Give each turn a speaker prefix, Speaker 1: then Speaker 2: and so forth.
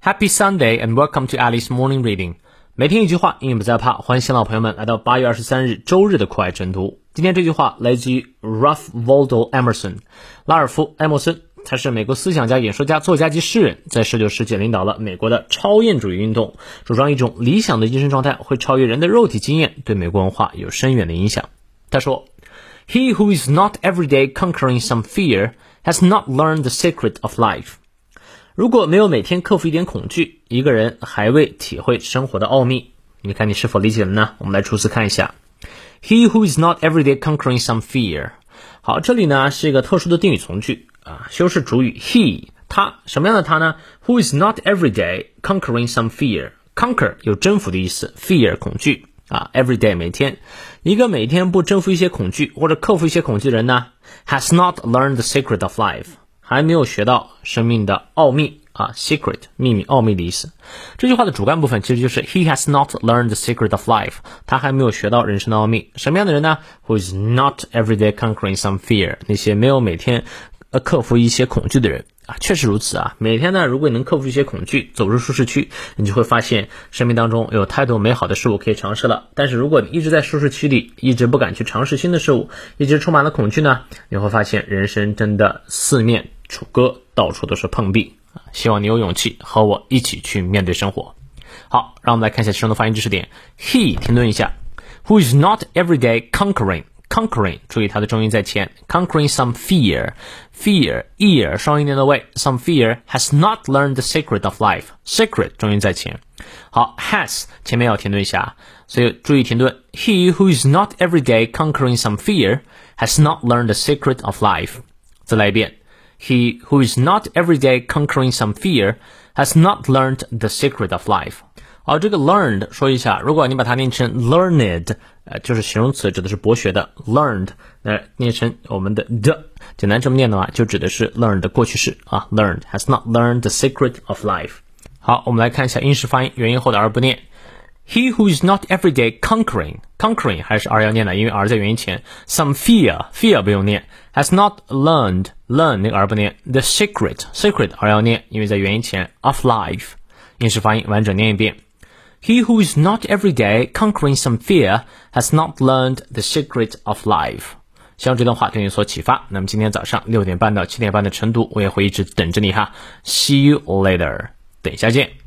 Speaker 1: Happy Sunday and welcome to Alice Morning Reading。每天一句话，英语不再怕，欢迎新老朋友们来到8月23日周日的酷爱晨读。今天这句话来自于 Ralph Waldo Emerson， 拉尔夫·埃默森，他是美国思想家、演说家、作家及诗人，在19世纪领导了美国的超验主义运动，主张一种理想的精神状态会超越人的肉体经验，对美国文化有深远的影响。他说 He who is not every day conquering some fear has not learned the secret of life。如果没有每天克服一点恐惧，一个人还未体会生活的奥秘。你看你是否理解了呢？我们来逐词看一下。He who is not every day conquering some fear。好，这里呢是一个特殊的定语从句啊，修饰主语 he， 他什么样的他呢 ？Who is not every day conquering some fear。Conquer 有征服的意思 ，fear 恐惧啊 ，every day 每天，一个每天不征服一些恐惧或者克服一些恐惧的人呢 ，has not learned the secret of life。还没有学到生命的奥秘啊 ，secret 秘密、奥秘的意思。这句话的主干部分其实就是 He has not learned the secret of life。他还没有学到人生的奥秘。什么样的人呢 ？Who is not every day conquering some fear？ 那些没有每天克服一些恐惧的人啊，确实如此啊。每天呢，如果你能克服一些恐惧，走出舒适区，你就会发现生命当中有太多美好的事物可以尝试了。但是如果你一直在舒适区里，一直不敢去尝试新的事物，一直充满了恐惧呢，你会发现人生真的四面楚歌，到处都是碰壁。希望你有勇气和我一起去面对生活。好，让我们来看一下其中的发音知识点。He 停顿一下 ，Who is not every day conquering，注意它的重音在前 ，conquering some fear ear 双音连到位 ，some fear has not learned the secret of life，secret 重音在前。好 ，has 前面要停顿一下，所以注意停顿。He who is not every day conquering some fear has not learned the secret of life。再来一遍。He who is not every day conquering some fear has not learned the secret of life。好，这个 learned 说一下，如果你把它念成 learned，就是形容词，指的是博学的 learned， 念成我们的 简单这么念的话，就指的是 learned 的过去式啊 ，learned has not learned the secret of life。好，我们来看一下英式发音，元音后的 r 不念。He who is not every day conquering 还是 r 要念的，因为 r 在元音前。Some fear 不用念。Has not learn 那个 r 不念。The secret r 要念，因为在元音前。Of life 英式发音完整念一遍。He who is not every day conquering some fear has not learned the secret of life。希望这段话对你有所启发。那么今天早上6点半到7点半的晨读，我也会一直等着你哈。See you later， 等一下见。